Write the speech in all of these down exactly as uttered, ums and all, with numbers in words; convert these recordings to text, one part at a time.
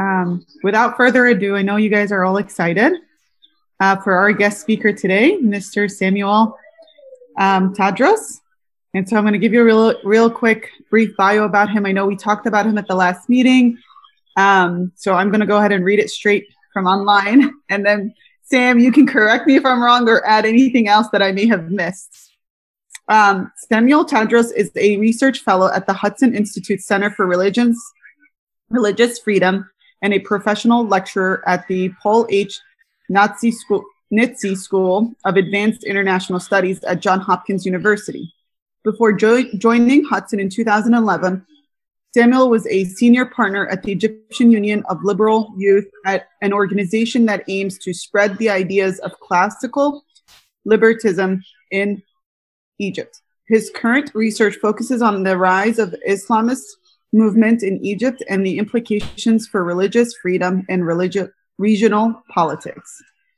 Um, without further ado, I know you guys are all excited uh, for our guest speaker today, Mister Samuel um, Tadros. And so I'm going to give you a real, real quick, brief bio about him. I know we talked about him at the last meeting. Um, so I'm going to go ahead and read it straight from online. And then, Sam, you can correct me if I'm wrong or add anything else that I may have missed. Um, Samuel Tadros is a research fellow at the Hudson Institute Center for Religions, Religious Freedom and a professional lecturer at the Paul H. Nitze School, Nitze School of Advanced International Studies at Johns Hopkins University. Before jo joining Hudson in two thousand eleven, Samuel was a senior partner at the Egyptian Union of Liberal Youth, at an organization that aims to spread the ideas of classical liberalism in Egypt. His current research focuses on the rise of Islamist movement in Egypt and the implications for religious freedom and religi regional politics.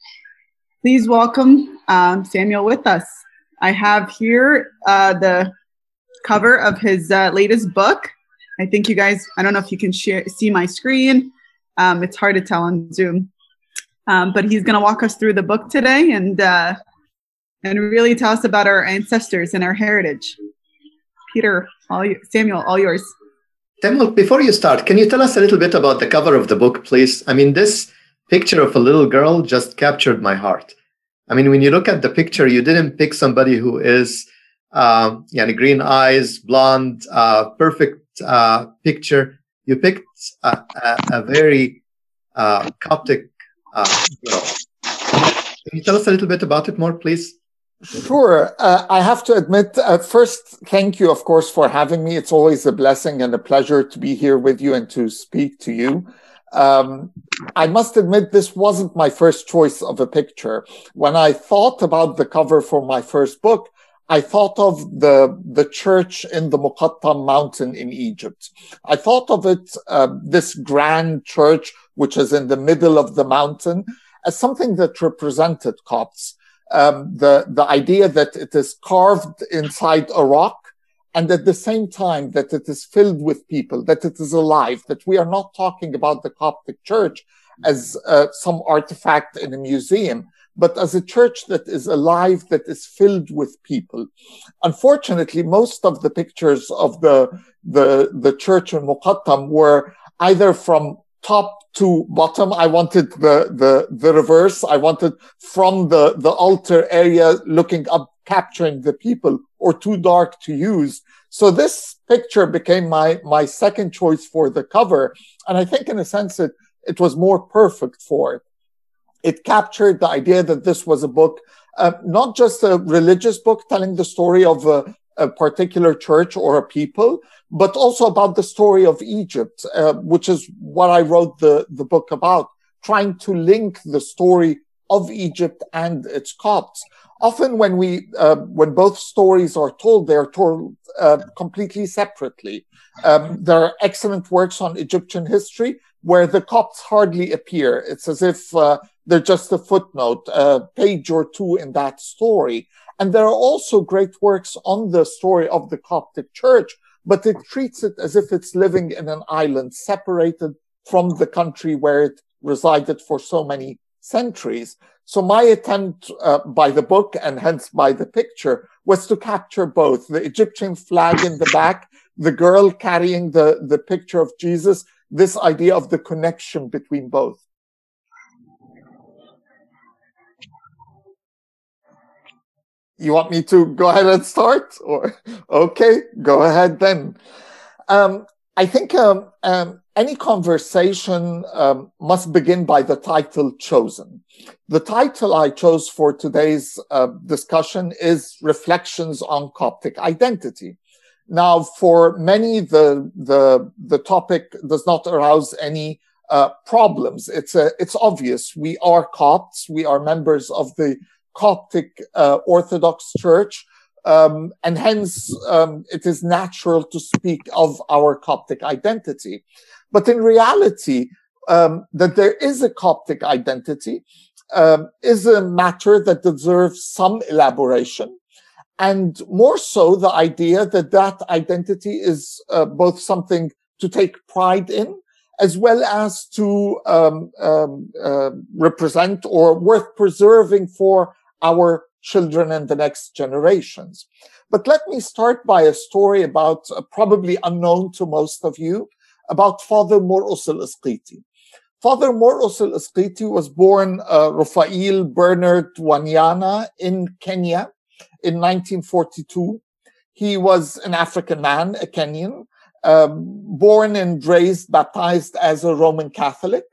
Please welcome um, Samuel with us. I have here uh, the cover of his uh, latest book. I think you guys, I don't know if you can share, see my screen. Um, it's hard to tell on Zoom. Um, but he's going to walk us through the book today and, uh, and really tell us about our ancestors and our heritage. Peter, all you, Samuel, all yours. Samuel, before you start, can you tell us a little bit about the cover of the book, please? I mean, this picture of a little girl just captured my heart. I mean, when you look at the picture, you didn't pick somebody who is, uh, yeah, green eyes, blonde, uh, perfect uh, picture. You picked a, a, a very uh, Coptic uh, girl. Can you tell us a little bit about it more, please? Sure. Uh, I have to admit, uh, first, thank you, of course, for having me. It's always a blessing and a pleasure to be here with you and to speak to you. Um, I must admit, this wasn't my first choice of a picture. When I thought about the cover for my first book, I thought of the, the church in the Muqattam mountain in Egypt. I thought of it, uh, this grand church, which is in the middle of the mountain, as something that represented Copts. Um, the, the idea that it is carved inside a rock, and at the same time that it is filled with people, that it is alive, that we are not talking about the Coptic church as uh, some artifact in a museum, but as a church that is alive, that is filled with people. Unfortunately, most of the pictures of the, the, the church in Muqattam were either from top to bottom. I wanted the, the, the reverse. I wanted from the, the altar area looking up, capturing the people, or too dark to use. So this picture became my, my second choice for the cover. And I think in a sense it, it was more perfect for it. It captured the idea that this was a book, uh, not just a religious book telling the story of a, a particular church or a people, but also about the story of Egypt, uh, which is what I wrote the, the book about, trying to link the story of Egypt and its Copts. Often when we, uh, when both stories are told, they're told uh, completely separately. Um, there are excellent works on Egyptian history where the Copts hardly appear. It's as if uh, they're just a footnote, a page or two in that story. And there are also great works on the story of the Coptic church, but it treats it as if it's living in an island separated from the country where it resided for so many centuries. So my attempt uh, by the book, and hence by the picture, was to capture both the Egyptian flag in the back, the girl carrying the, the picture of Jesus, this idea of the connection between both. You want me to go ahead and start? Or okay, go ahead then. Um, I think um, um, any conversation um, must begin by the title chosen. The title I chose for today's uh, discussion is Reflections on Coptic Identity. Now, for many, the, the, the topic does not arouse any uh, problems. It's, a, it's obvious. We are Copts. We are members of the Coptic uh, Orthodox Church. Um, and hence, um, it is natural to speak of our Coptic identity. But in reality, um, that there is a Coptic identity um, is a matter that deserves some elaboration. And more so, the idea that that identity is uh, both something to take pride in as well as to um, um, uh, represent or worth preserving for our children and the next generations. But let me start by a story about, uh, probably unknown to most of you, about Father Morqus al-Isqiti. Father Morqus al-Isqiti was born uh, Rafael Bernard Wanyana in Kenya in nineteen forty-two. He was an African man, a Kenyan, um, born and raised, baptized as a Roman Catholic.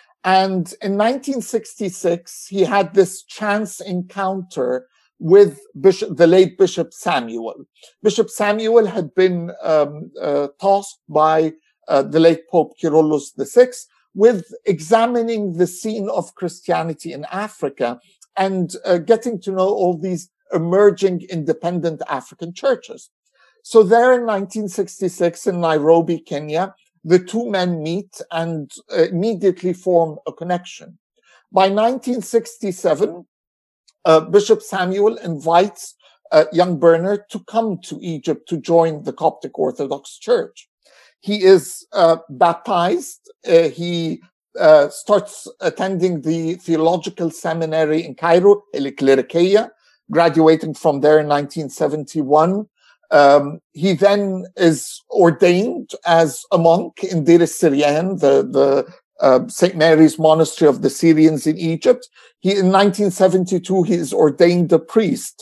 And in nineteen sixty-six, he had this chance encounter with Bishop, the late Bishop Samuel. Bishop Samuel had been um, uh, tasked by uh, the late Pope Kyrillos the sixth with examining the scene of Christianity in Africa and uh, getting to know all these emerging independent African churches. So there in nineteen sixty-six in Nairobi, Kenya, the two men meet and uh, immediately form a connection. By nineteen sixty-seven, uh, Bishop Samuel invites uh, young Bernard to come to Egypt to join the Coptic Orthodox Church. He is uh, baptized. Uh, he uh, starts attending the theological seminary in Cairo, Eliklerikeya, graduating from there in nineteen seventy-one. Um, he then is ordained as a monk in Deir es-Syrian, the, the uh, Saint Mary's Monastery of the Syrians in Egypt. He, in nineteen seventy-two, he is ordained a priest.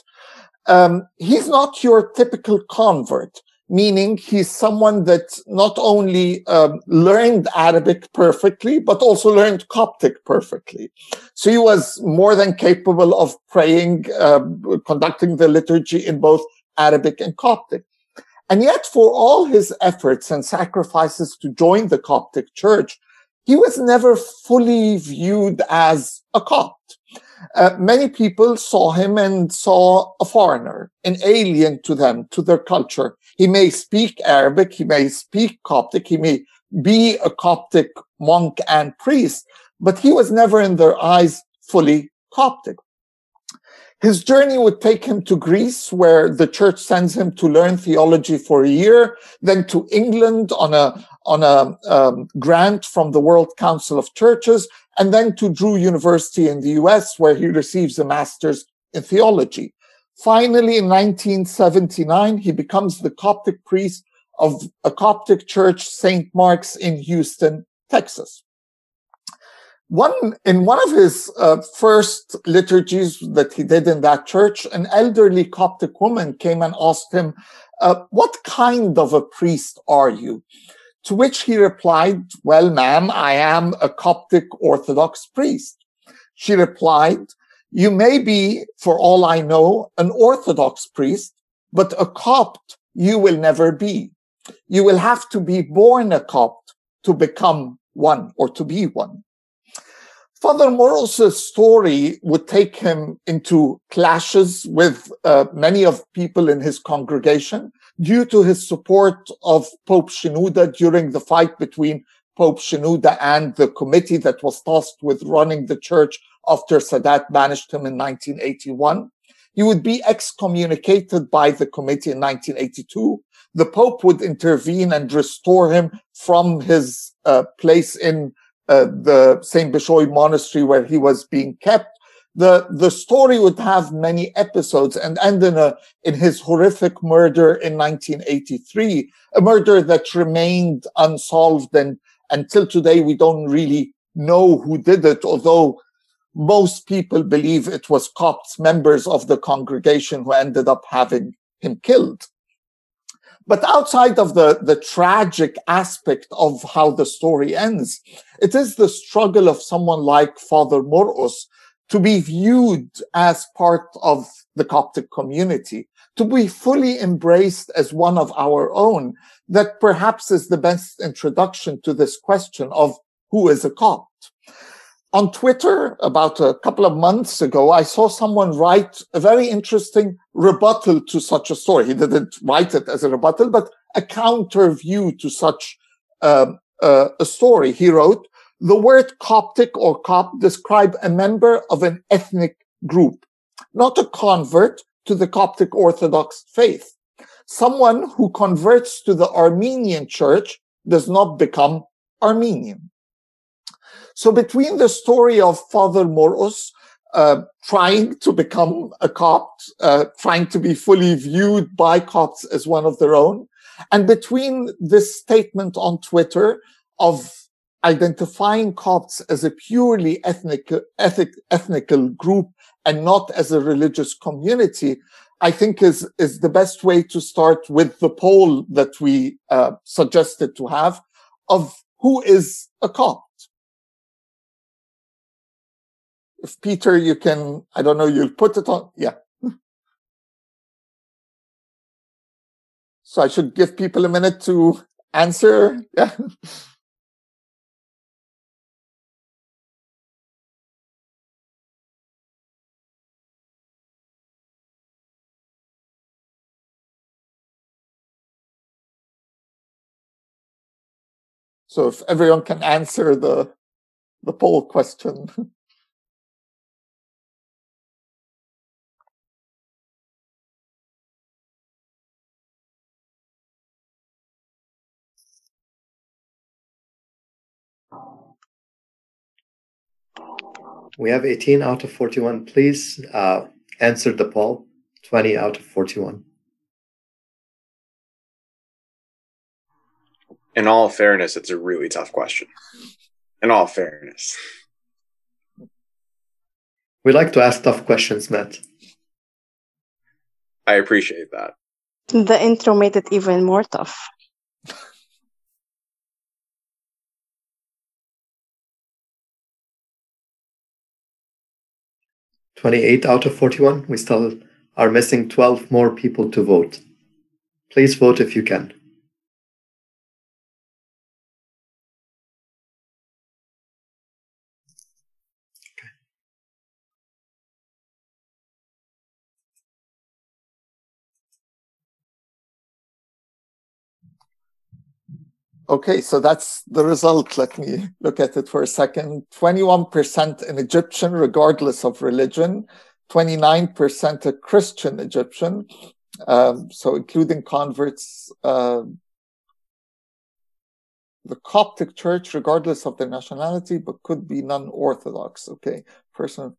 Um, he's not your typical convert, meaning he's someone that not only um, learned Arabic perfectly, but also learned Coptic perfectly. So he was more than capable of praying, uh, conducting the liturgy in both Arabic and Coptic. And yet, for all his efforts and sacrifices to join the Coptic Church, he was never fully viewed as a Copt. Uh, many people saw him and saw a foreigner, an alien to them, to their culture. He may speak Arabic, he may speak Coptic, he may be a Coptic monk and priest, but he was never in their eyes fully Coptic. His journey would take him to Greece, where the church sends him to learn theology for a year, then to England on a, on a um, grant from the World Council of Churches, and then to Drew University in the U S, where he receives a master's in theology. Finally, in nineteen seventy-nine, he becomes the Coptic priest of a Coptic church, Saint Mark's in Houston, Texas. One, in one of his uh, first liturgies that he did in that church, an elderly Coptic woman came and asked him, uh, what kind of a priest are you? To which he replied, well, ma'am, I am a Coptic Orthodox priest. She replied, you may be, for all I know, an Orthodox priest, but a Copt you will never be. You will have to be born a Copt to become one or to be one. Father Morqus' story would take him into clashes with uh, many of people in his congregation due to his support of Pope Shenouda during the fight between Pope Shenouda and the committee that was tasked with running the church after Sadat banished him in nineteen eighty-one. He would be excommunicated by the committee in nineteen eighty-two. The Pope would intervene and restore him from his uh, place in Uh, the Saint Bishoy Monastery where he was being kept. The, the story would have many episodes and end in, a, in his horrific murder in nineteen eighty-three, a murder that remained unsolved, and until today we don't really know who did it, although most people believe it was Copts, members of the congregation, who ended up having him killed. But outside of the, the tragic aspect of how the story ends, it is the struggle of someone like Father Morqus to be viewed as part of the Coptic community, to be fully embraced as one of our own, that perhaps is the best introduction to this question of who is a Copt. On Twitter, about a couple of months ago, I saw someone write a very interesting rebuttal to such a story. He didn't write it as a rebuttal, but a counter view to such um, uh, a story. He wrote, the word Coptic or Copt describe a member of an ethnic group, not a convert to the Coptic Orthodox faith. Someone who converts to the Armenian church does not become Armenian. So between the story of Father Moros uh, trying to become a Copt, uh, trying to be fully viewed by Copts as one of their own, and between this statement on Twitter of identifying Copts as a purely ethnic, ethic, ethnical group and not as a religious community, I think is, is the best way to start with the poll that we uh, suggested to have of who is a Copt. If Peter, you can, I don't know, you'll put it on, yeah. So I should give people a minute to answer, yeah. So if everyone can answer the, the poll question. We have eighteen out of forty-one. Please uh, answer the poll. twenty out of forty-one. In all fairness, it's a really tough question. In all fairness. We like to ask tough questions, Matt. I appreciate that. The intro made it even more tough. twenty-eight out of forty-one. We still are missing twelve more people to vote. Please vote if you can. Okay, so that's the result. Let me look at it for a second. twenty-one percent an Egyptian, regardless of religion. twenty-nine percent a Christian Egyptian, um, so including converts. Uh, the Coptic Church, regardless of their nationality, but could be non-Orthodox. Okay, person.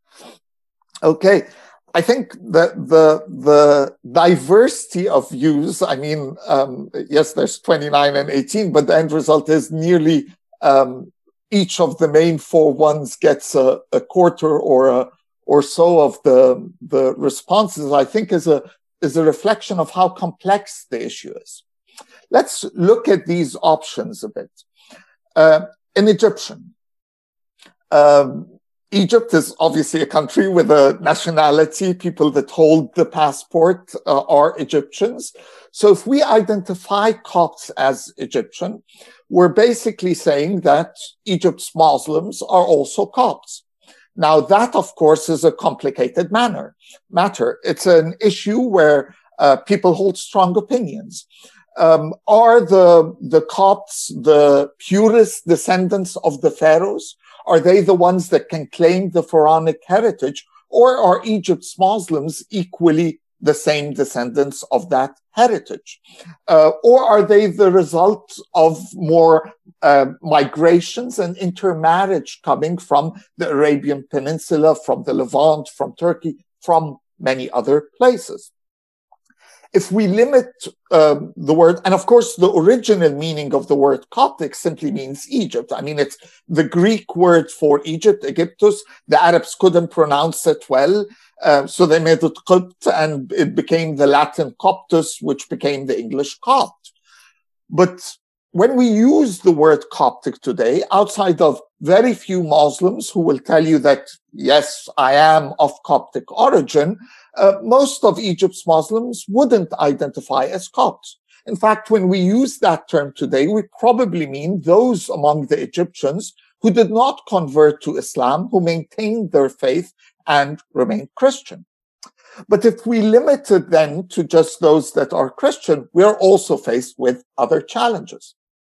Okay. I think that the the diversity of views, I mean, um, yes, there's twenty-nine and eighteen, but the end result is nearly um, each of the main four ones gets a, a quarter or a, or so of the the responses. I think is a is a reflection of how complex the issue is. Let's look at these options a bit. Uh, in Egyptian. Um, Egypt is obviously a country with a nationality. People that hold the passport uh, are Egyptians. So if we identify Copts as Egyptian, we're basically saying that Egypt's Muslims are also Copts. Now that, of course, is a complicated manner, matter. It's an issue where uh, people hold strong opinions. Um, are the, the Copts the purest descendants of the pharaohs? Are they the ones that can claim the pharaonic heritage, or are Egypt's Muslims equally the same descendants of that heritage? Uh, or are they the result of more uh, migrations and intermarriage coming from the Arabian Peninsula, from the Levant, from Turkey, from many other places? If we limit um, the word, and of course the original meaning of the word Coptic simply means Egypt. I mean, it's the Greek word for Egypt, Egyptus. The Arabs couldn't pronounce it well, uh, so they made it Copt, and it became the Latin Coptus, which became the English Copt. But when we use the word Coptic today, outside of very few Muslims who will tell you that, yes, I am of Coptic origin, uh, most of Egypt's Muslims wouldn't identify as Copts. In fact, when we use that term today, we probably mean those among the Egyptians who did not convert to Islam, who maintained their faith and remained Christian. But if we limit it then to just those that are Christian, we are also faced with other challenges.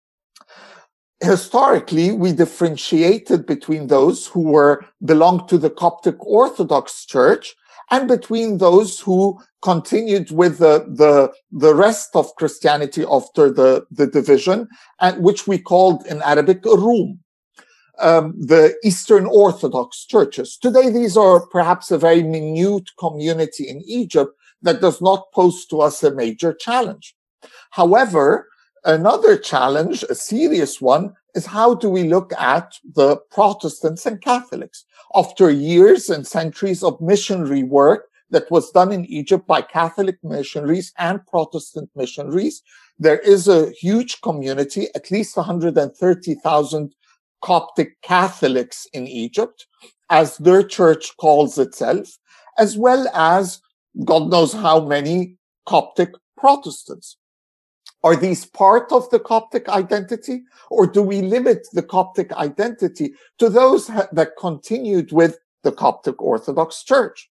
Historically, we differentiated between those who were belonged to the Coptic Orthodox Church and between those who continued with the, the, the rest of Christianity after the, the division, and which we called in Arabic Rum, um, the Eastern Orthodox churches. Today, these are perhaps a very minute community in Egypt that does not pose to us a major challenge. However, another challenge, a serious one, is how do we look at the Protestants and Catholics? After years and centuries of missionary work that was done in Egypt by Catholic missionaries and Protestant missionaries, there is a huge community, at least one hundred thirty thousand Coptic Catholics in Egypt, as their church calls itself, as well as God knows how many Coptic Protestants. Are these part of the Coptic identity, or do we limit the Coptic identity to those that continued with the Coptic Orthodox Church?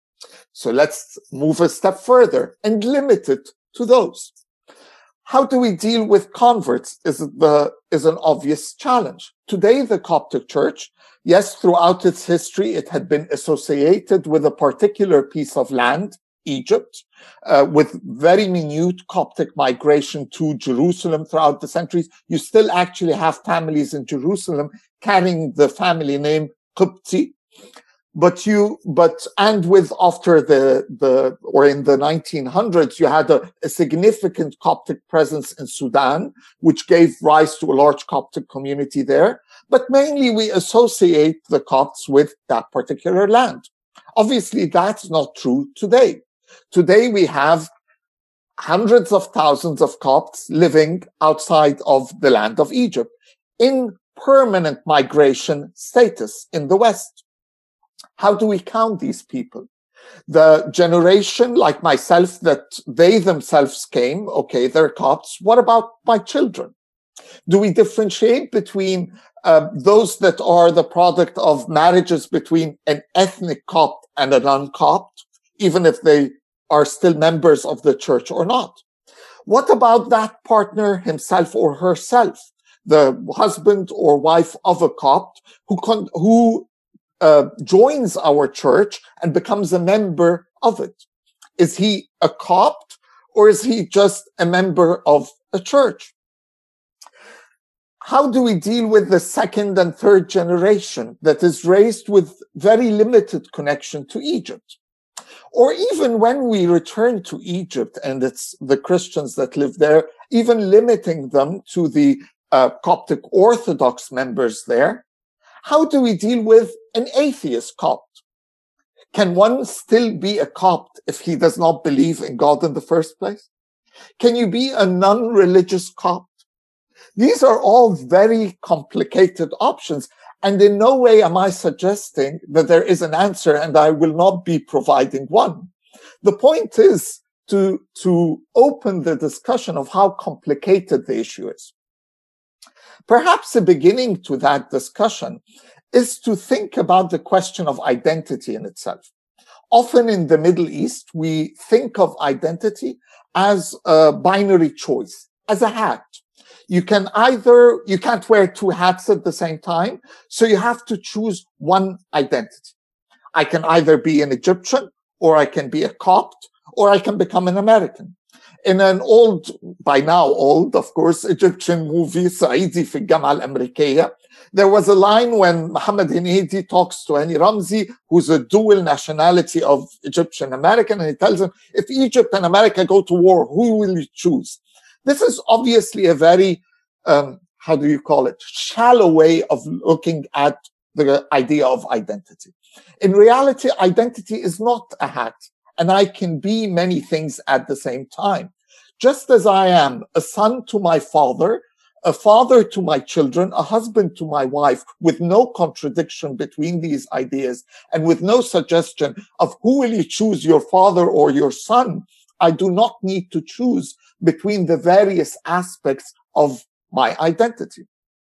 So let's move a step further and limit it to those. How do we deal with converts is, the, is an obvious challenge. Today, the Coptic Church, yes, throughout its history, it had been associated with a particular piece of land, Egypt, uh, with very minute Coptic migration to Jerusalem throughout the centuries. You still actually have families in Jerusalem carrying the family name Qibti. But you, but, and with after the, the, or in the nineteen hundreds, you had a, a significant Coptic presence in Sudan, which gave rise to a large Coptic community there. But mainly we associate the Copts with that particular land. Obviously, that's not true today. Today, we have hundreds of thousands of Copts living outside of the land of Egypt in permanent migration status in the West. How do we count these people? The generation like myself that they themselves came, okay, they're Copts. What about my children? Do we differentiate between uh, those that are the product of marriages between an ethnic Copt and a non-Copt, even if they are still members of the church or not? What about that partner himself or herself, the husband or wife of a Copt who con- who uh, joins our church and becomes a member of it? Is he a Copt or is he just a member of a church? How do we deal with the second and third generation that is raised with very limited connection to Egypt? Or even when we return to Egypt and it's the Christians that live there, even limiting them to the uh, Coptic Orthodox members there, how do we deal with an atheist Copt? Can one still be a Copt if he does not believe in God in the first place? Can you be a non-religious Copt? These are all very complicated options. And in no way am I suggesting that there is an answer, and I will not be providing one. The point is to, to open the discussion of how complicated the issue is. Perhaps a beginning to that discussion is to think about the question of identity in itself. Often in the Middle East, we think of identity as a binary choice, as a hat. You can either, you can't wear two hats at the same time, so you have to choose one identity. I can either be an Egyptian, or I can be a Copt, or I can become an American. In an old, by now old, of course, Egyptian movie, Saidi fi al-Jam'a al-Amrikiyya, there was a line when Mohammed Hennedy talks to Hani Ramzi, who's a dual nationality of Egyptian American, and he tells him, if Egypt and America go to war, who will you choose? This is obviously a very, um, how do you call it, shallow way of looking at the idea of identity. In reality, identity is not a hat, and I can be many things at the same time. Just as I am a son to my father, a father to my children, a husband to my wife, with no contradiction between these ideas, and with no suggestion of who will you choose, your father or your son, I do not need to choose between the various aspects of my identity.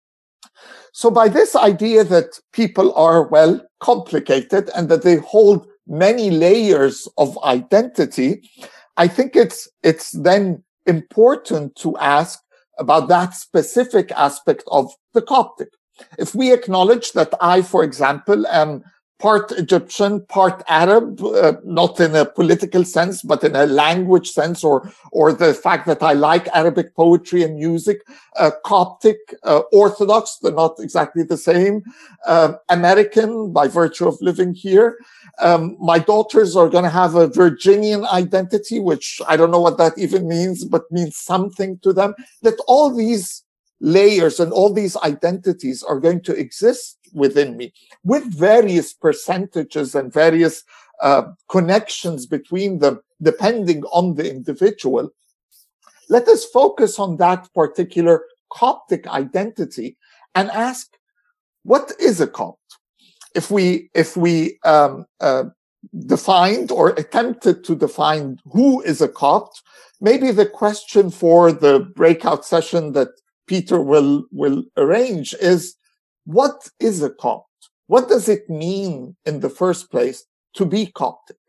So by this idea that people are, well, complicated and that they hold many layers of identity, I think it's, it's then important to ask about that specific aspect of the Coptic. If we acknowledge that I, for example, am part Egyptian, part Arab, uh, not in a political sense, but in a language sense, or or the fact that I like Arabic poetry and music, uh, Coptic, uh, Orthodox, they're not exactly the same, uh, American by virtue of living here. Um, my daughters are going to have a Virginian identity, which I don't know what that even means, but means something to them. That all these layers and all these identities are going to exist within me with various percentages and various uh, connections between them, depending on the individual. Let us focus on that particular Coptic identity and ask, what is a Copt? If we, if we um, uh, defined or attempted to define who is a Copt, maybe the question for the breakout session that Peter will, will arrange is, what is a Copt? What does it mean in the first place to be Coptic?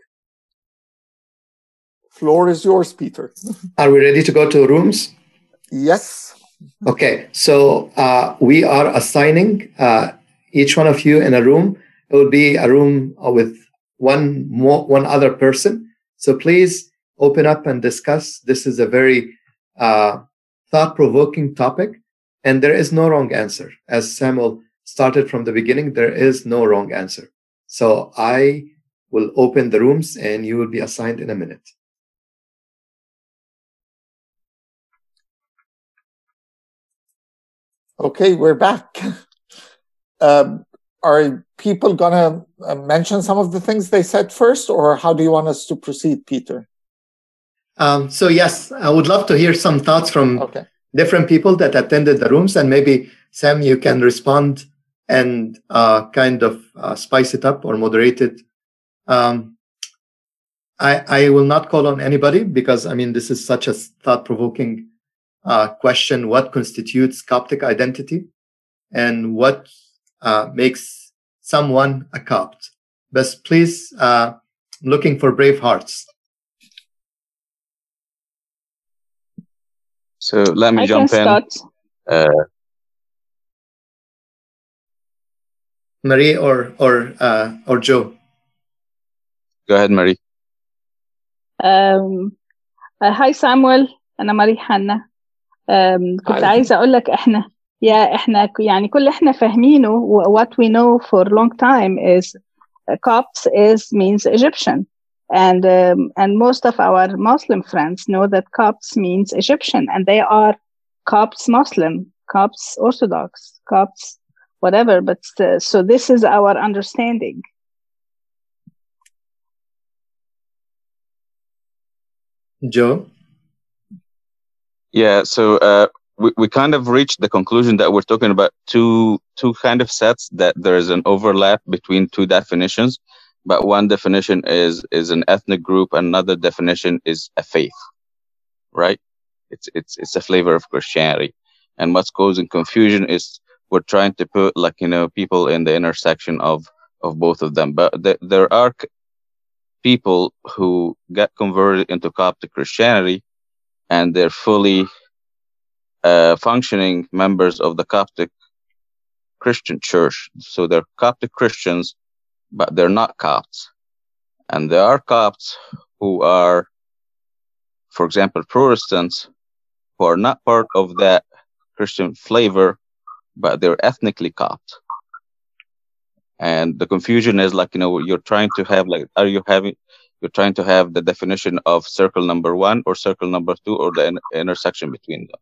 Floor is yours, Peter. Are we ready to go to rooms? Yes. Okay, so uh, we are assigning uh, each one of you in a room. It will be a room with one more, one other person. So please open up and discuss. This is a very uh, thought-provoking topic, and there is no wrong answer. As Samuel started from the beginning, there is no wrong answer. So I will open the rooms, and you will be assigned in a minute. Okay, we're back. um, are people going to uh, mention some of the things they said first, or how do you want us to proceed, Peter? Um, so yes, I would love to hear some thoughts from okay. different people that attended the rooms, and maybe, Sam, you can respond and uh, kind of uh, spice it up or moderate it. Um, I, I will not call on anybody because, I mean, this is such a thought-provoking uh, question. What constitutes Coptic identity and what uh, makes someone a Copt? But please, uh, looking for brave hearts. So let me I jump can in. start. Uh, Marie or or uh, or Joe. Go ahead, Marie. Um, uh, hi Samuel، أنا ماري حنا. um, كنت Hi. عايزة أقول لك إحنا يا إحنا يعني كل إحنا فاهمينه what we know for a long time is uh, Copts is means Egyptian, and um, and most of our Muslim friends know that Copts means Egyptian, and they are Copts Muslim, Copts Orthodox, Copts whatever. But uh, so this is our understanding. Joe? Yeah, so uh, we, we kind of reached the conclusion that we're talking about two two kind of sets, that there is an overlap between two definitions, but one definition is is an ethnic group, another definition is a faith, right? It's it's it's a flavor of Christianity, and what's causing confusion is we're trying to put, like, you know, people in the intersection of of both of them, but th- there are c- people who get converted into Coptic Christianity, and they're fully uh, functioning members of the Coptic Christian Church. So they're Coptic Christians, but they're not Copts. And there are Copts who are, for example, Protestants, who are not part of that Christian flavor, but they're ethnically Copt. And the confusion is, like, you know, you're trying to have, like, are you having, you're trying to have the definition of circle number one or circle number two, or the in- intersection between them.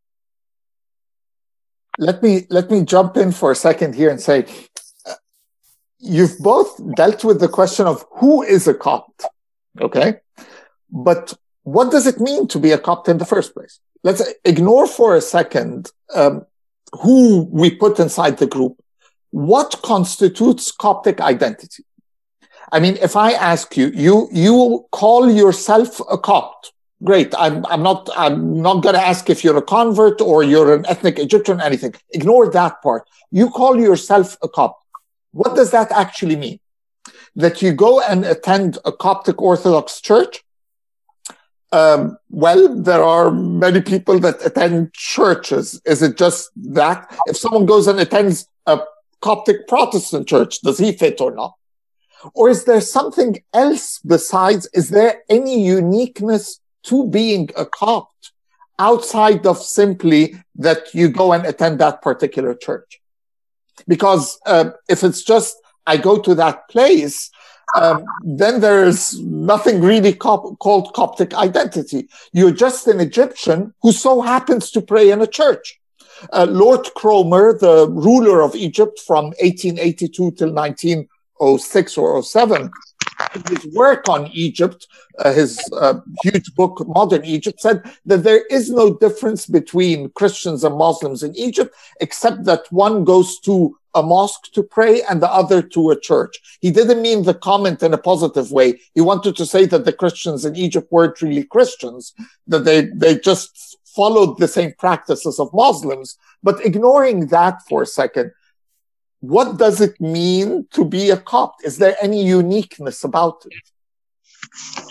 Let me let me jump in for a second here and say, uh, you've both dealt with the question of who is a Copt, okay? But what does it mean to be a Copt in the first place? Let's ignore for a second um, who we put inside the group. What constitutes Coptic identity? I mean, if I ask you, you you call yourself a Copt. Great. I'm I'm not I'm not going to ask if you're a convert or you're an ethnic Egyptian, anything. Ignore that part. You call yourself a Copt. What does that actually mean? That you go and attend a Coptic Orthodox church? Um, well, there are many people that attend churches. Is it just that? If someone goes and attends a Coptic Protestant church, does he fit or not? Or is there something else besides? Is there any uniqueness to being a Copt outside of simply that you go and attend that particular church? Because uh, if it's just, I go to that place, um, then there's nothing really cop- called Coptic identity. You're just an Egyptian who so happens to pray in a church. Uh, Lord Cromer, the ruler of Egypt from eighteen eighty-two till nineteen oh six or oh seven, his work on Egypt, uh, his uh, huge book, Modern Egypt, said that there is no difference between Christians and Muslims in Egypt, except that one goes to a mosque to pray and the other to a church. He didn't mean the comment in a positive way. He wanted to say that the Christians in Egypt weren't really Christians, that they, they just followed the same practices of Muslims. But ignoring that for a second, what does it mean to be a Copt? Is there any uniqueness about it?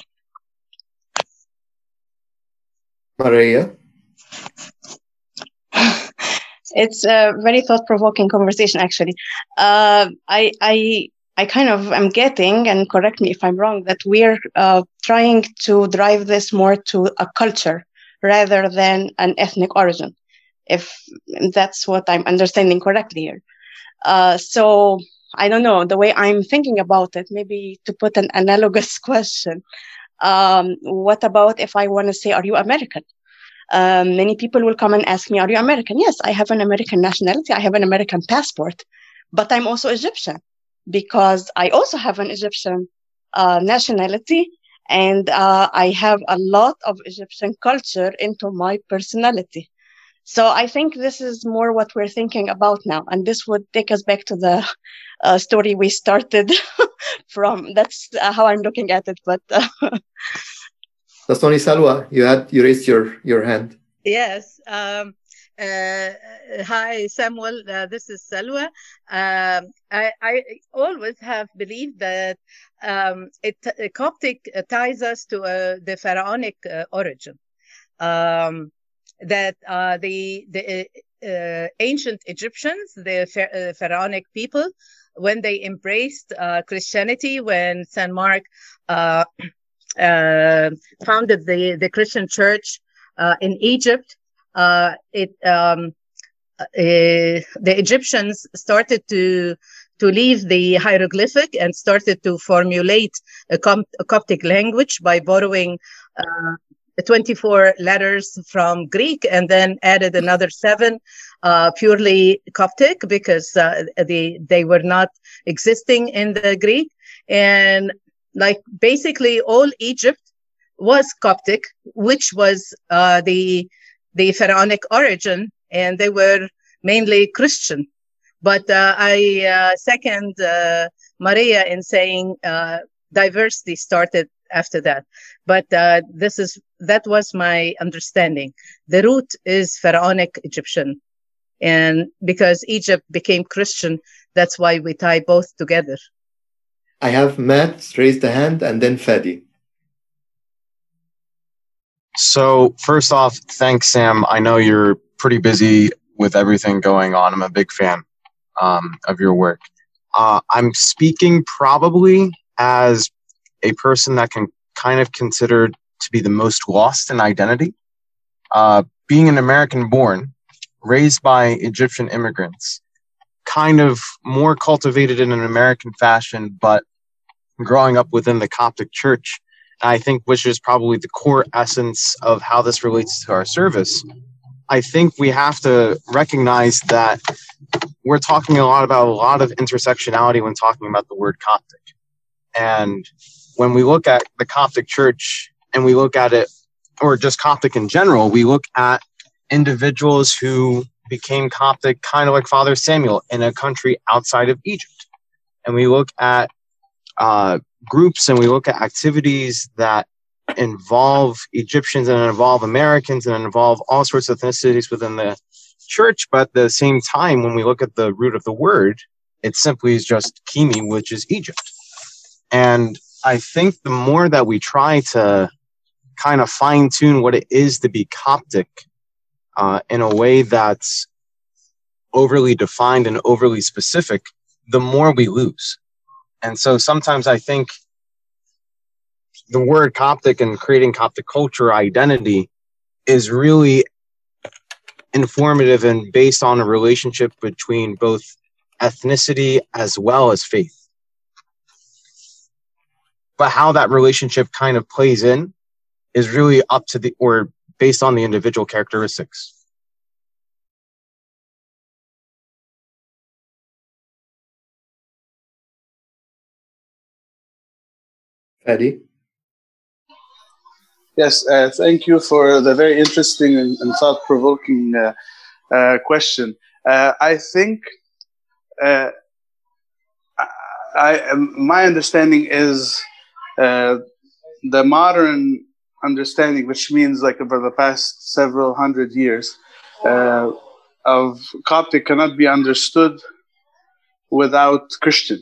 Maria? It's a very thought-provoking conversation, actually. Uh, I, I, I kind of am getting, and correct me if I'm wrong, that we're uh, trying to drive this more to a culture rather than an ethnic origin, if that's what I'm understanding correctly here. Uh, so I don't know, the way I'm thinking about it, maybe to put an analogous question, um, what about if I want to say, are you American? Um, many people will come and ask me, are you American? Yes, I have an American nationality. I have an American passport, but I'm also Egyptian because I also have an Egyptian uh, nationality, and uh, I have a lot of Egyptian culture into my personality. So I think this is more what we're thinking about now. And this would take us back to the uh, story we started from. That's uh, how I'm looking at it. But uh, That's only Salwa. You had you raised your, your hand. Yes. Um, uh, hi, Samuel. Uh, this is Salwa. Um, I, I always have believed that um, it uh, Coptic ties us to uh, the pharaonic uh, origin. Um, that uh, the the uh, ancient Egyptians, the uh, pharaonic people, when they embraced uh, Christianity, when Saint Mark uh, uh, founded the, the Christian church uh, in Egypt, uh, it um, uh, the Egyptians started to to leave the hieroglyphic and started to formulate a, Com- a Coptic language by borrowing uh, twenty-four letters from Greek and then added another seven uh, purely Coptic because uh, they, they were not existing in the Greek. And like basically all Egypt was Coptic, which was uh, the, the pharaonic origin, and they were mainly Christian. But uh, I uh, second uh, Maria in saying uh, diversity started after that. But uh, this is that was my understanding. The root is pharaonic Egyptian. And because Egypt became Christian, that's why we tie both together. I have Matt raise the hand and then Fadi. So first off, thanks, Sam. I know you're pretty busy with everything going on. I'm a big fan um, of your work. Uh, I'm speaking probably as a person that can kind of considered to be the most lost in identity. Uh, being an American born, raised by Egyptian immigrants, kind of more cultivated in an American fashion, but growing up within the Coptic Church, I think, which is probably the core essence of how this relates to our service. I think we have to recognize that we're talking a lot about a lot of intersectionality when talking about the word Coptic. And when we look at the Coptic Church and we look at it, or just Coptic in general, we look at individuals who became Coptic, kind of like Father Samuel, in a country outside of Egypt. And we look at uh, groups and we look at activities that involve Egyptians and involve Americans and involve all sorts of ethnicities within the church. But at the same time, when we look at the root of the word, it simply is just Kimi, which is Egypt. And I think the more that we try to kind of fine tune what it is to be Coptic uh, in a way that's overly defined and overly specific, the more we lose. And so sometimes I think the word Coptic and creating Coptic culture identity is really informative and based on a relationship between both ethnicity as well as faith. But how that relationship kind of plays in is really up to the, or based on the individual characteristics. Eddie? Yes, uh, thank you for the very interesting and, and thought-provoking uh, uh, question. Uh, I think uh, I, I, my understanding is uh, the modern understanding, which means like over the past several hundred years, uh, of Coptic cannot be understood without Christian.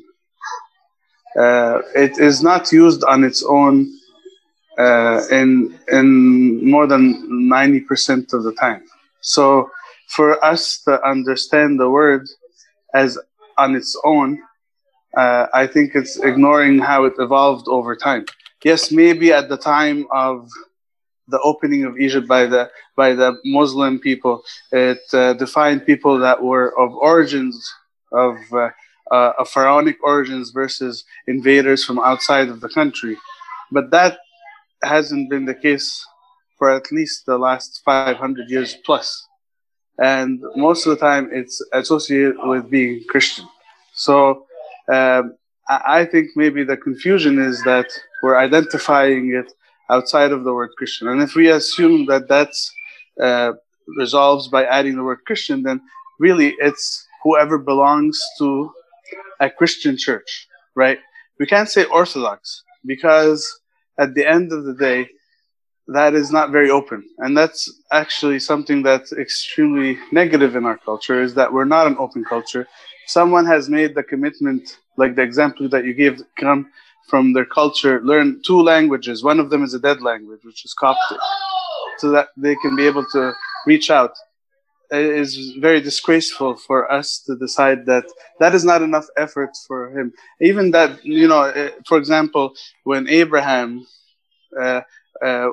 Uh, it is not used on its own uh, in in more than ninety percent of the time. So for us to understand the word as on its own, uh, I think it's ignoring how it evolved over time. Yes, maybe at the time of the opening of Egypt by the by the Muslim people, it uh, defined people that were of origins of uh, uh, of pharaonic origins versus invaders from outside of the country. But that hasn't been the case for at least the last five hundred years plus. And most of the time it's associated with being Christian. So um, I think maybe the confusion is that we're identifying it outside of the word Christian. And if we assume that that's uh, resolves by adding the word Christian, then really it's whoever belongs to a Christian church, right? We can't say Orthodox because at the end of the day, that is not very open. And that's actually something that's extremely negative in our culture, is that we're not an open culture. Someone has made the commitment, like the example that you gave, come from their culture, learn two languages. One of them is a dead language, which is Coptic, so that they can be able to reach out. It is very disgraceful for us to decide that that is not enough effort for him. Even that, you know, for example, when Abraham uh, uh,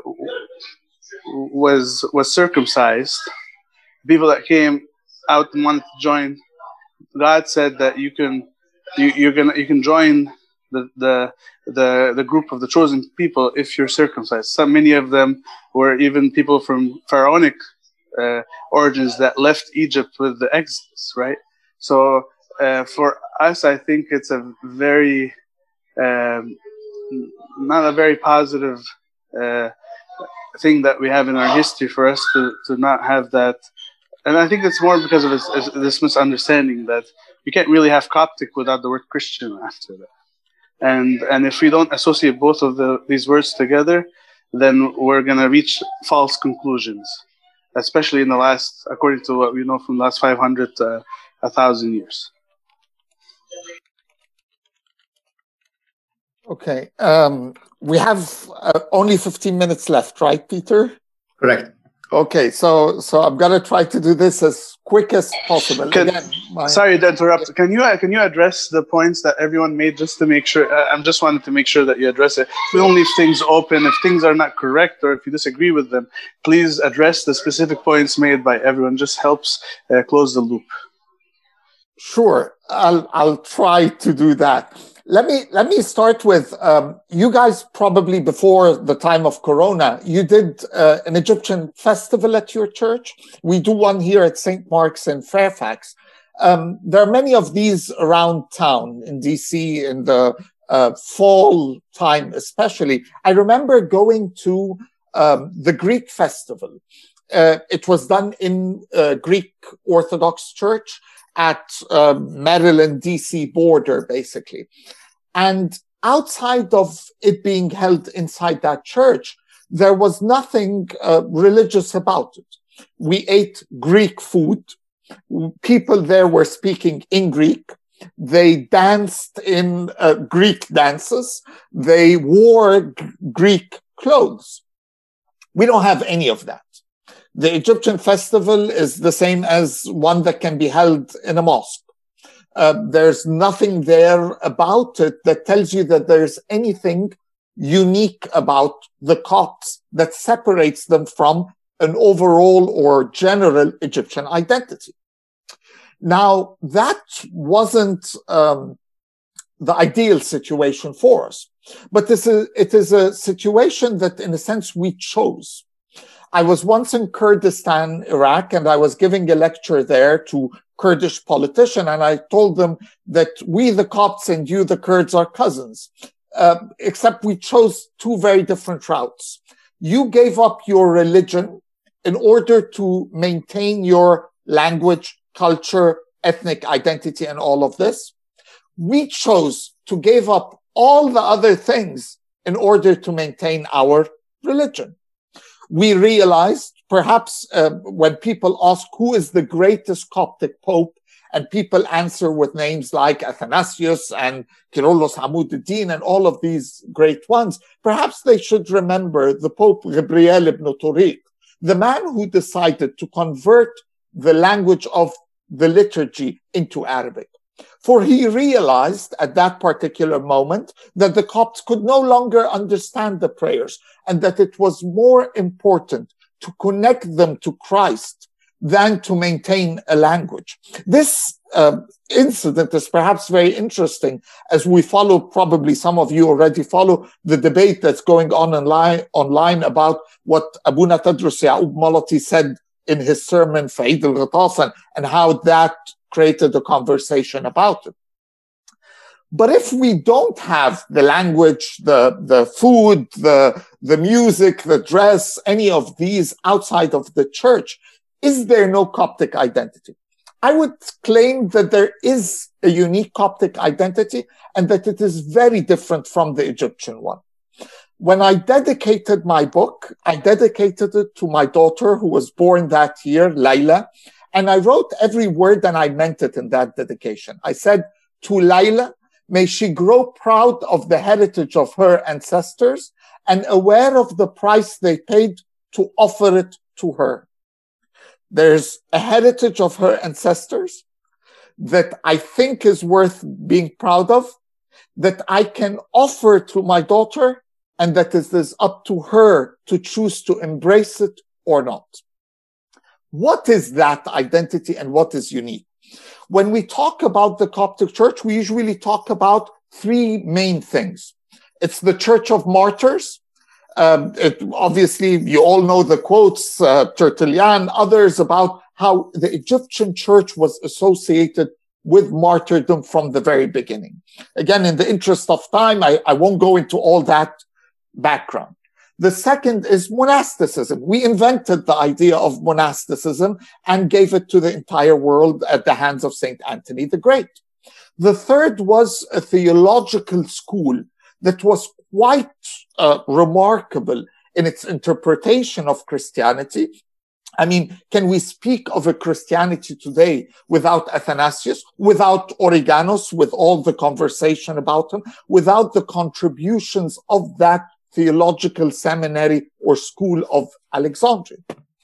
was was circumcised, people that came out and wanted to join, God said that you can you, you're gonna you can join the the the the group of the chosen people if you're circumcised. So many of them were even people from pharaonic uh, origins that left Egypt with the Exodus, right? So uh, for us, I think it's a very um, not a very positive uh, thing that we have in our history for us to to not have that. And I think it's more because of this, this misunderstanding that you can't really have Coptic without the word Christian after that. And and if we don't associate both of the, these words together, then we're going to reach false conclusions, especially in the last, according to what we know from the last five hundred to one thousand years. Okay. Um, we have uh, only fifteen minutes left, right, Peter? Correct. Okay, so so I'm gonna try to do this as quick as possible. Can, Again, my, sorry to interrupt. Can you uh, can you address the points that everyone made, just to make sure? Uh, I'm just wanted to make sure that you address it. We don't leave things open. If things are not correct or if you disagree with them, please address the specific points made by everyone. Just helps uh, close the loop. Sure, I'll I'll try to do that. Let me let me start with um, you guys. Probably before the time of Corona, you did uh, an Egyptian festival at your church. We do one here at Saint Mark's in Fairfax. Um, there are many of these around town in D C in the uh, fall time, especially. I remember going to um, the Greek festival. Uh, it was done in uh, Greek Orthodox Church at uh, Maryland D C border, basically. And outside of it being held inside that church, there was nothing uh, religious about it. We ate Greek food. People there were speaking in Greek. They danced in uh, Greek dances. They wore g- Greek clothes. We don't have any of that. The Egyptian festival is the same as one that can be held in a mosque. Uh, there's nothing there about it that tells you that there's anything unique about the Copts that separates them from an overall or general Egyptian identity. Now, that wasn't um, the ideal situation for us, but this is, it is a situation that, in a sense, we chose. I was once in Kurdistan, Iraq, and I was giving a lecture there to Kurdish politicians, and I told them that we, the Copts, and you, the Kurds, are cousins, uh, except we chose two very different routes. You gave up your religion in order to maintain your language, culture, ethnic identity, and all of this. We chose to give up all the other things in order to maintain our religion. We realized, perhaps uh, when people ask who is the greatest Coptic Pope, and people answer with names like Athanasius and Kyrillos Hamouddin and all of these great ones, perhaps they should remember the Pope Gabriel ibn Tariq, the man who decided to convert the language of the liturgy into Arabic. For he realized at that particular moment that the Copts could no longer understand the prayers, and that it was more important to connect them to Christ than to maintain a language. This uh, incident is perhaps very interesting as we follow, probably some of you already follow, the debate that's going on online, online about what Abuna Tadros Ya'ub Malati said in his sermon, Fa'id al-Ghatasan, and how that created a conversation about it. But if we don't have the language, the, the food, the, the music, the dress, any of these outside of the church, is there no Coptic identity? I would claim that there is a unique Coptic identity and that it is very different from the Egyptian one. When I dedicated my book, I dedicated it to my daughter who was born that year, Layla, and I wrote every word and I meant it in that dedication. I said, to Layla, may she grow proud of the heritage of her ancestors and aware of the price they paid to offer it to her. There's a heritage of her ancestors that I think is worth being proud of, that I can offer to my daughter, and that it is up to her to choose to embrace it or not. What is that identity and what is unique? When we talk about the Coptic Church, we usually talk about three main things. It's the Church of Martyrs. Um, it, obviously, you all know the quotes, uh, Tertullian, others, about how the Egyptian church was associated with martyrdom from the very beginning. Again, in the interest of time, I, I won't go into all that background. The second is monasticism. We invented the idea of monasticism and gave it to the entire world at the hands of Saint Anthony the Great. The third was a theological school that was quite uh, remarkable in its interpretation of Christianity. I mean, can we speak of a Christianity today without Athanasius, without Origanos, with all the conversation about him, without the contributions of that theological seminary or school of Alexandria?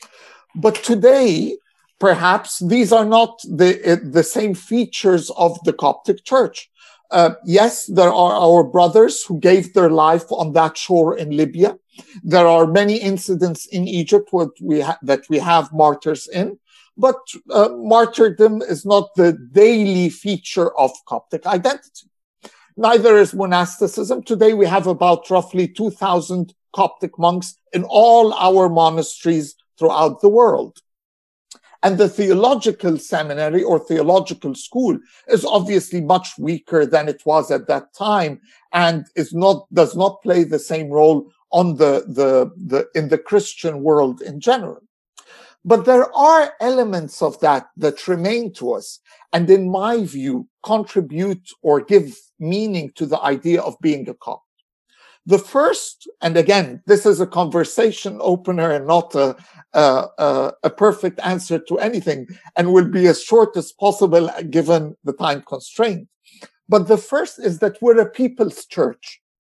But today, perhaps these are not the, uh, the same features of the Coptic Church. Uh, yes, there are our brothers who gave their life on that shore in Libya. There are many incidents in Egypt what we that we have martyrs in, but uh, martyrdom is not the daily feature of Coptic identity. Neither is monasticism. Today we have about roughly two thousand Coptic monks in all our monasteries throughout the world. And the theological seminary or theological school is obviously much weaker than it was at that time and is not, does not play the same role on the, the, the, in the Christian world in general. But there are elements of that that remain to us, and in my view, contribute or give meaning to the idea of being a Copt. The first, and again, this is a conversation opener and not a, a, a, a perfect answer to anything, and will be as short as possible given the time constraint. But the first is that we're a people's church.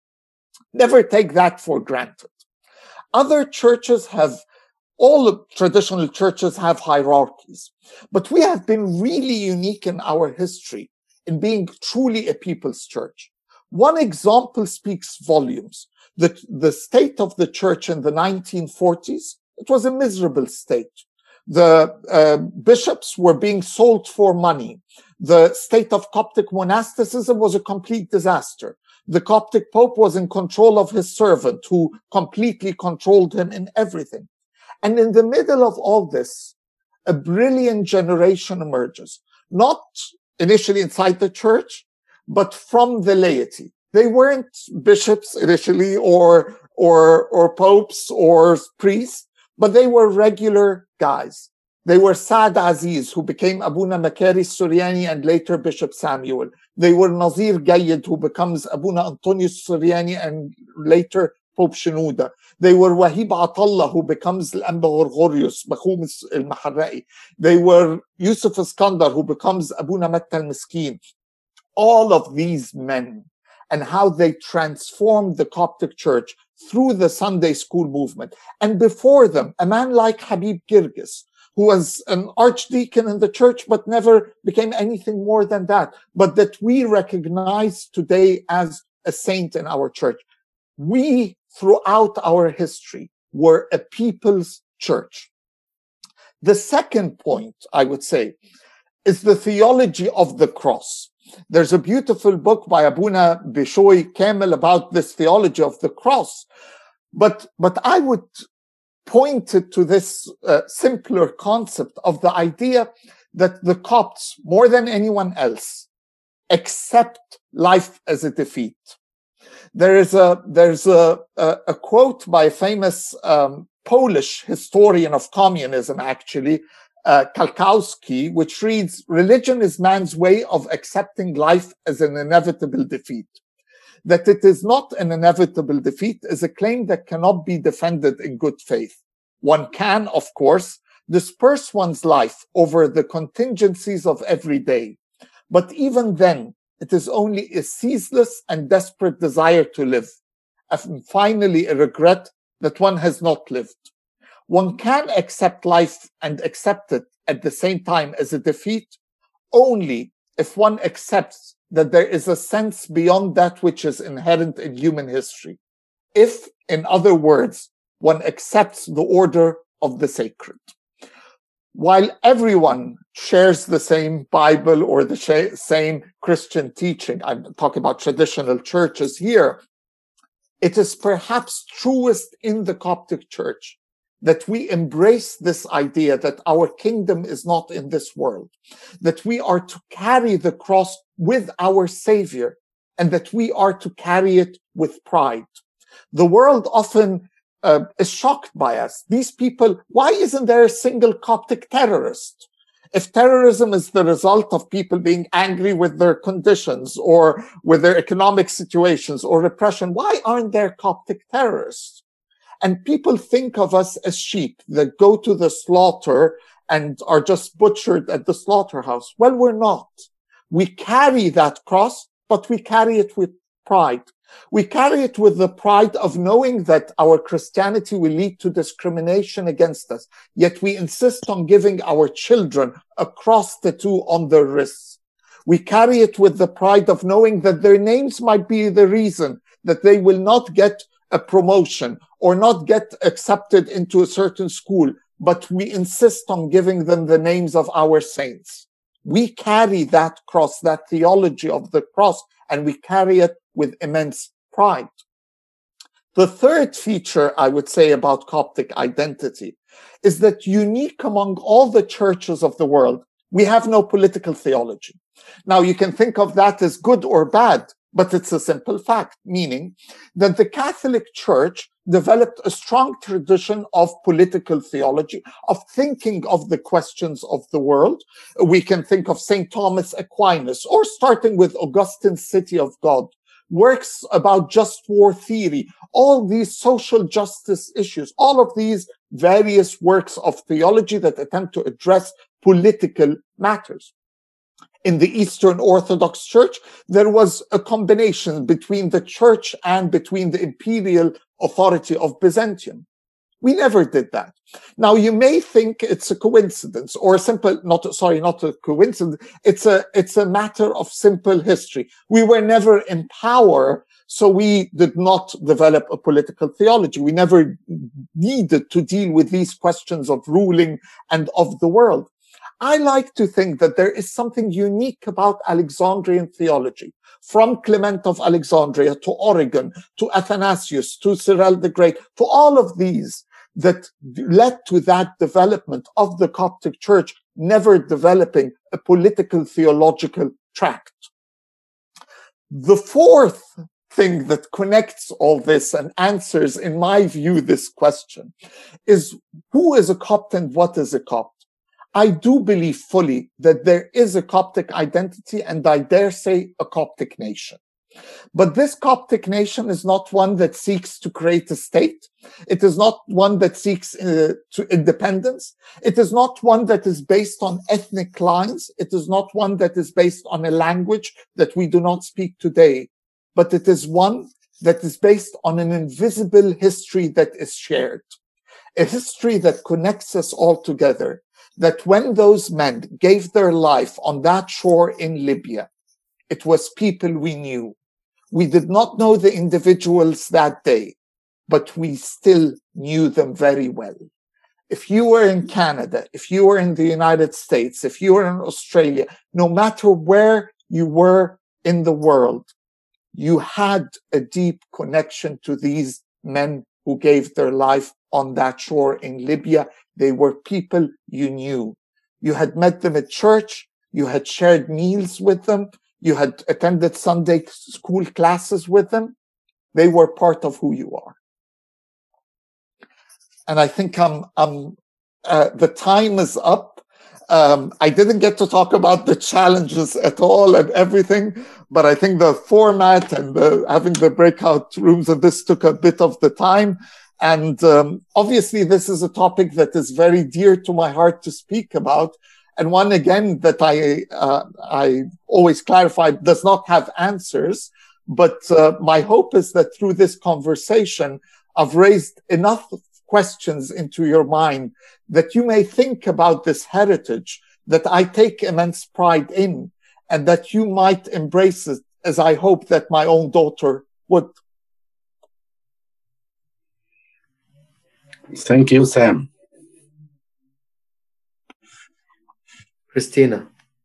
Never take that for granted. Other churches have All traditional churches have hierarchies, but we have been really unique in our history in being truly a people's church. One example speaks volumes. The, the state of the church in the nineteen forties, it was a miserable state. The uh, bishops were being sold for money. The state of Coptic monasticism was a complete disaster. The Coptic Pope was in control of his servant, who completely controlled him in everything. And in the middle of all this, a brilliant generation emerges, not initially inside the church, but from the laity. They weren't bishops initially or, or, or popes or priests, but they were regular guys. They were Saad Aziz, who became Abuna Makari Suryani and later Bishop Samuel. They were Nazir Gayyid, who becomes Abuna Antonius Suryani and later Pope Shenouda. They were Wahib Atallah, who becomes Al-Anba Gorgorius, Bakhum al-Maharra'i. They were Yusuf Iskandar, who becomes Abuna Matta al-Miskin. All of these men and how they transformed the Coptic church through the Sunday school movement. And before them, a man like Habib Girgis, who was an archdeacon in the church, but never became anything more than that, but that we recognize today as a saint in our church. We, throughout our history, were a people's church. The second point, I would say, is the theology of the cross. There's a beautiful book by Abuna Bishoy Kamel about this theology of the cross. But, but I would point it to this uh, simpler concept of the idea that the Copts, more than anyone else, accept life as a defeat. There is a, there's a, a, a quote by a famous um, Polish historian of communism, actually, Uh, Kalkowski, which reads, "Religion is man's way of accepting life as an inevitable defeat. That it is not an inevitable defeat is a claim that cannot be defended in good faith. One can, of course, disperse one's life over the contingencies of every day. But even then, it is only a ceaseless and desperate desire to live, and finally a regret that one has not lived. One can accept life and accept it at the same time as a defeat only if one accepts that there is a sense beyond that which is inherent in human history. If, in other words, one accepts the order of the sacred." While everyone shares the same Bible or the sh- same Christian teaching, I'm talking about traditional churches here, it is perhaps truest in the Coptic Church that we embrace this idea that our kingdom is not in this world, that we are to carry the cross with our Savior, and that we are to carry it with pride. The world often uh, is shocked by us. These people, why isn't there a single Coptic terrorist? If terrorism is the result of people being angry with their conditions or with their economic situations or repression, why aren't there Coptic terrorists? And people think of us as sheep that go to the slaughter and are just butchered at the slaughterhouse. Well, we're not. We carry that cross, but we carry it with pride. We carry it with the pride of knowing that our Christianity will lead to discrimination against us. Yet we insist on giving our children a cross tattoo on their wrists. We carry it with the pride of knowing that their names might be the reason that they will not get a promotion or not get accepted into a certain school, but we insist on giving them the names of our saints. We carry that cross, that theology of the cross, and we carry it with immense pride. The third feature I would say about Coptic identity is that unique among all the churches of the world, we have no political theology. Now, you can think of that as good or bad, but it's a simple fact, meaning that the Catholic Church developed a strong tradition of political theology, of thinking of the questions of the world. We can think of Saint Thomas Aquinas, or starting with Augustine's City of God, works about just war theory, all these social justice issues, all of these various works of theology that attempt to address political matters. In the Eastern Orthodox Church, there was a combination between the church and between the imperial authority of Byzantium. We never did that. Now, you may think it's a coincidence or a simple, not, sorry, not a coincidence. It's a, it's a matter of simple history. We were never in power, so we did not develop a political theology. We never needed to deal with these questions of ruling and of the world. I like to think that there is something unique about Alexandrian theology, from Clement of Alexandria to Origen, to Athanasius, to Cyril the Great, to all of these that led to that development of the Coptic Church, never developing a political theological tract. The fourth thing that connects all this and answers, in my view, this question is who is a Copt and what is a Copt? I do believe fully that there is a Coptic identity and I dare say a Coptic nation. But this Coptic nation is not one that seeks to create a state. It is not one that seeks uh, to independence. It is not one that is based on ethnic lines. It is not one that is based on a language that we do not speak today. But it is one that is based on an invisible history that is shared. A history that connects us all together. That when those men gave their life on that shore in Libya, it was people we knew. We did not know the individuals that day, but we still knew them very well. If you were in Canada, if you were in the United States, if you were in Australia, no matter where you were in the world, you had a deep connection to these men who gave their life on that shore in Libya. They were people you knew. You had met them at church. You had shared meals with them. You had attended Sunday school classes with them. They were part of who you are. And I think I'm, I'm, uh, the time is up. Um, I didn't get to talk about the challenges at all and everything, but I think the format and the, having the breakout rooms and this took a bit of the time. And um, obviously, this is a topic that is very dear to my heart to speak about. And one, again, that I uh, I always clarify does not have answers. But uh, my hope is that through this conversation, I've raised enough questions into your mind that you may think about this heritage that I take immense pride in, and that you might embrace it as I hope that my own daughter would. Thank you, Sam. Christina.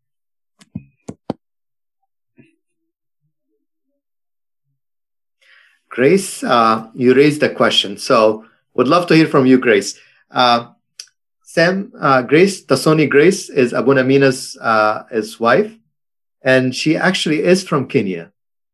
Grace, uh, you raised a question, so would love to hear from you, Grace. Uh, Sam, uh, Grace, Tasoni Grace is Abuna Mina's uh, his wife, and she actually is from Kenya.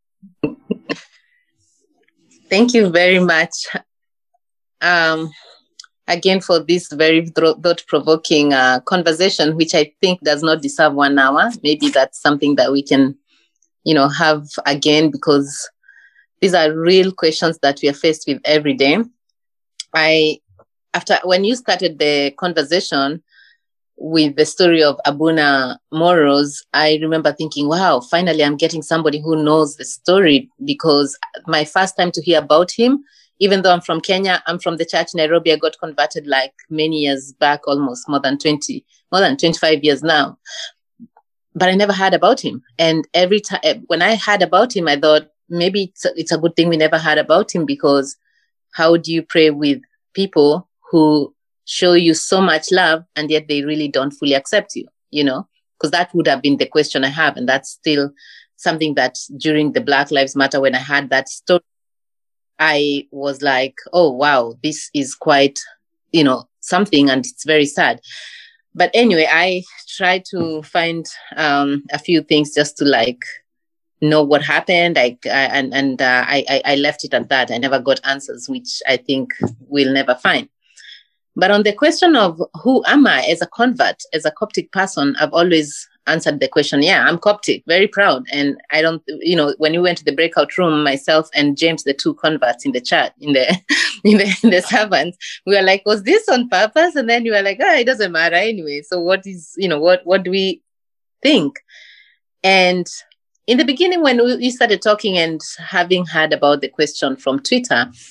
Thank you very much. Um, again, for this very thought-provoking uh, conversation, which I think does not deserve one hour. Maybe that's something that we can, you know, have again, because these are real questions that we are faced with every day. I, after when you started the conversation with the story of Abuna Moros, I remember thinking, wow, finally I'm getting somebody who knows the story, because my first time to hear about him, even though I'm from Kenya, I'm from the church in Nairobi. I got converted like many years back, almost more than twenty, more than twenty-five years now. But I never heard about him. And every time when I heard about him, I thought maybe it's a, it's a good thing we never heard about him, because how do you pray with people who show you so much love and yet they really don't fully accept you, you know? Because that would have been the question I have. And that's still something that during the Black Lives Matter, when I had that story, I was like, oh, wow, this is quite, you know, something, and it's very sad. But anyway, I tried to find um, a few things just to like know what happened. I, I and and uh, I I left it at that. I never got answers, which I think we'll never find. But on the question of who am I as a convert, as a Coptic person, I've always answered the question, yeah, I'm Coptic, very proud. And I don't, you know, when we went to the breakout room, myself and James, the two converts in the chat, in the in the, in the servants, we were like, was this on purpose? And then you were like, oh, it doesn't matter anyway. So what is, you know, what, what do we think? And in the beginning, when we started talking and having heard about the question from Twitter,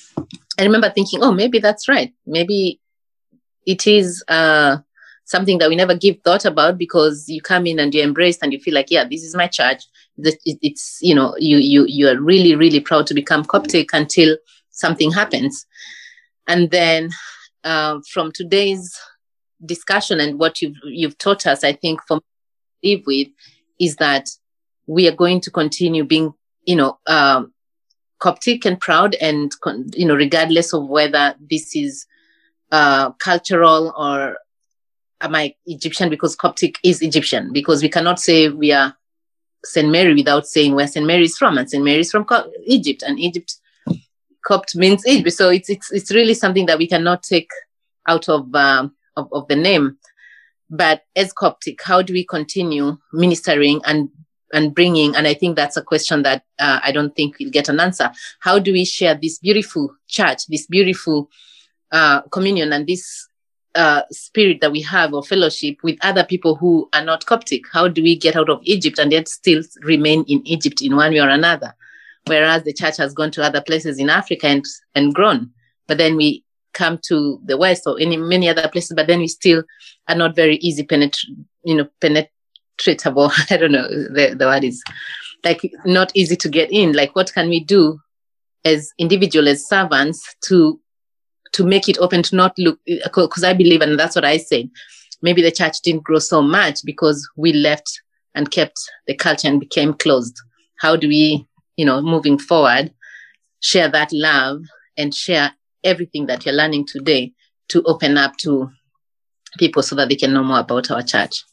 I remember thinking, oh, maybe that's right. Maybe it is uh, something that we never give thought about, because you come in and you're embraced and you feel like, yeah, this is my church. It's, you know, you you you are really, really proud to become Coptic until something happens. And then uh, from today's discussion and what you've, you've taught us, I think for me to live with is that we are going to continue being, you know, um, Coptic and proud, and, you know, regardless of whether this is uh, cultural or am I Egyptian, because Coptic is Egyptian, because we cannot say we are Saint Mary without saying where Saint Mary is from, and Saint Mary is from Egypt, and Egypt, Copt means Egypt. So it's it's it's really something that we cannot take out of, um, of, of the name. But as Coptic, how do we continue ministering and and bringing, and I think that's a question that uh, I don't think we'll get an answer. How do we share this beautiful church, this beautiful uh, communion, and this uh, spirit that we have of fellowship with other people who are not Coptic? How do we get out of Egypt and yet still remain in Egypt in one way or another? Whereas the church has gone to other places in Africa and, and grown, but then we come to the West or in many other places, but then we still are not very easy penetra- you know, penetrate. Treatable. I don't know, the, the word is like not easy to get in. Like, what can we do as individuals, as servants, to to make it open, to not look, because I believe, and that's what I said, maybe the church didn't grow so much because we left and kept the culture and became closed. How do we, you know, moving forward, share that love and share everything that you're learning today to open up to people so that they can know more about our church?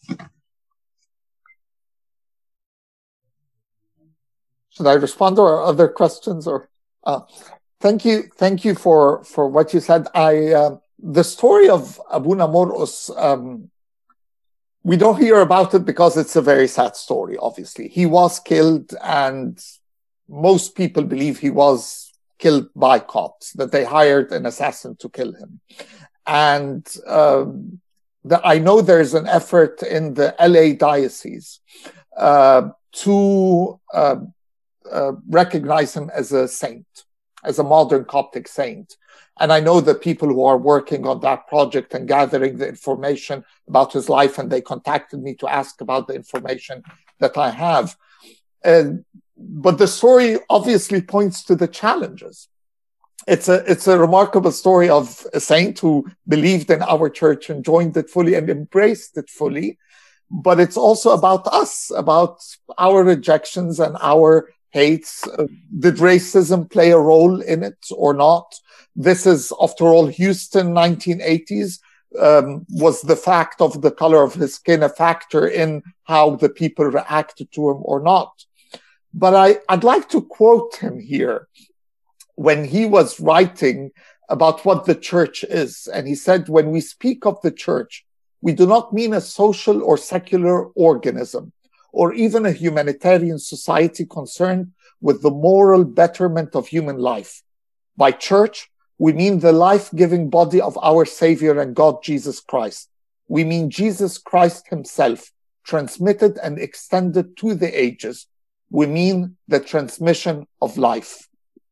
Should I respond to our other questions? Or uh, thank you, thank you for for what you said. I uh, the story of Abuna Morus, um, we don't hear about it because it's a very sad story. Obviously, he was killed, and most people believe he was killed by Copts, that they hired an assassin to kill him. And um, the, I know there's an effort in the L A diocese uh, to uh, Uh, recognize him as a saint, as a modern Coptic saint. And I know the people who are working on that project and gathering the information about his life, and they contacted me to ask about the information that I have. And, but the story obviously points to the challenges. It's a, it's a remarkable story of a saint who believed in our church and joined it fully and embraced it fully. But it's also about us, about our rejections and our hates. Uh, did racism play a role in it or not? This is, after all, Houston, nineteen eighties. Um, was the fact of the color of his skin a factor in how the people reacted to him or not? But I, I'd like to quote him here when he was writing about what the church is. And he said, when we speak of the church, we do not mean a social or secular organism, or even a humanitarian society concerned with the moral betterment of human life. By church, we mean the life-giving body of our Savior and God, Jesus Christ. We mean Jesus Christ himself, transmitted and extended to the ages. We mean the transmission of life.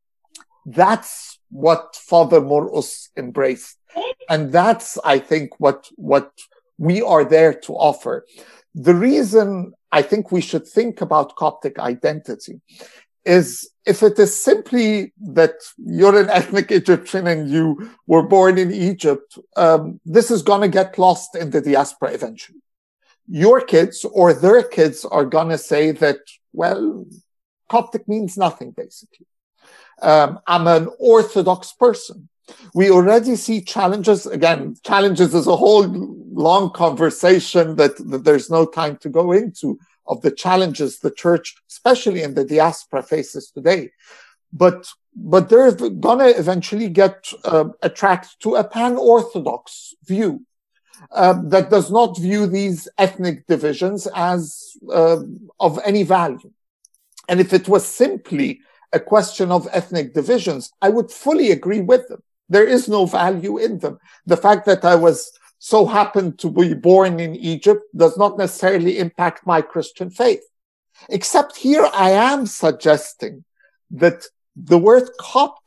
That's what Father Morus embraced. And that's, I think, what, what we are there to offer. The reason I think we should think about Coptic identity is if it is simply that you're an ethnic Egyptian and you were born in Egypt, um, this is going to get lost in the diaspora eventually. Your kids or their kids are going to say that, well, Coptic means nothing, basically. Um, I'm an Orthodox person. We already see challenges. Again, challenges is a whole long conversation that, that there's no time to go into, of the challenges the church, especially in the diaspora, faces today. But, but they're going to eventually get uh, attracted to a pan-Orthodox view uh, that does not view these ethnic divisions as uh, of any value. And if it was simply a question of ethnic divisions, I would fully agree with them. There is no value in them. The fact that I was so happened to be born in Egypt does not necessarily impact my Christian faith. Except here I am suggesting that the word Coptic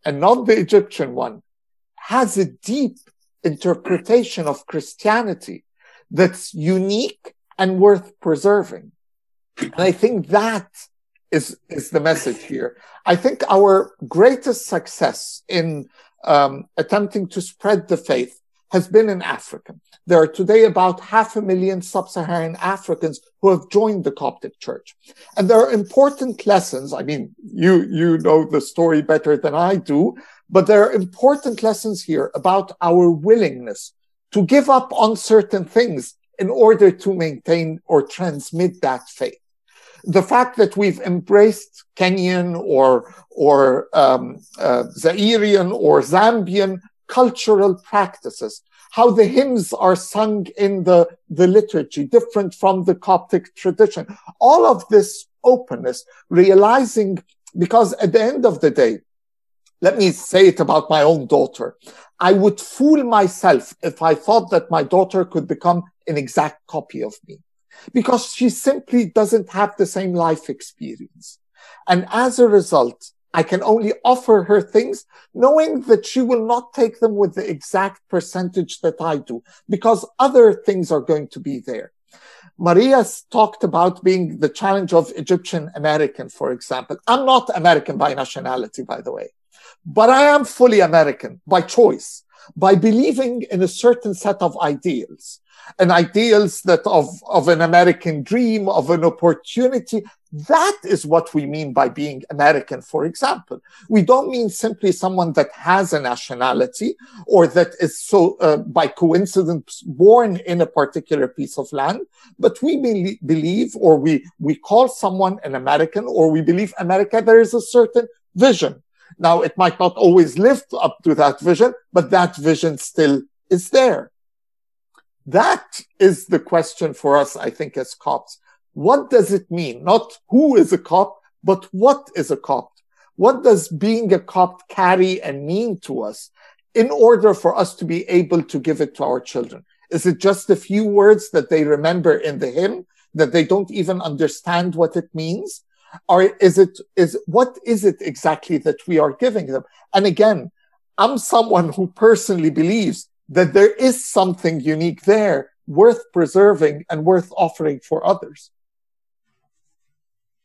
and not the Egyptian one, has a deep interpretation of Christianity that's unique and worth preserving. And I think that is, is the message here. I think our greatest success in um, attempting to spread the faith has been in Africa. There are today about half a million sub-Saharan Africans who have joined the Coptic Church. And there are important lessons. I mean, you, you know the story better than I do, but there are important lessons here about our willingness to give up on certain things in order to maintain or transmit that faith. The fact that we've embraced Kenyan or, or um, uh, Zairian or Zambian cultural practices, how the hymns are sung in the, the liturgy, different from the Coptic tradition. All of this openness, realizing, because at the end of the day, let me say it about my own daughter, I would fool myself if I thought that my daughter could become an exact copy of me, because she simply doesn't have the same life experience. And as a result, I can only offer her things knowing that she will not take them with the exact percentage that I do, because other things are going to be there. Maria's talked about being the challenge of Egyptian American, for example. I'm not American by nationality, by the way, but I am fully American by choice, by believing in a certain set of ideals, and ideals that of, of an American dream, of an opportunity. That is what we mean by being American, for example. We don't mean simply someone that has a nationality or that is so uh, by coincidence born in a particular piece of land, but we be- believe or we, we call someone an American, or we believe America, there is a certain vision. Now, it might not always live up to that vision, but that vision still is there. That is the question for us, I think, as Copts. What does it mean? Not who is a Copt, but what is a Copt? What does being a Copt carry and mean to us in order for us to be able to give it to our children? Is it just a few words that they remember in the hymn, that they don't even understand what it means? Or is it, is, what is it exactly that we are giving them? And again, I'm someone who personally believes that there is something unique there, worth preserving and worth offering for others.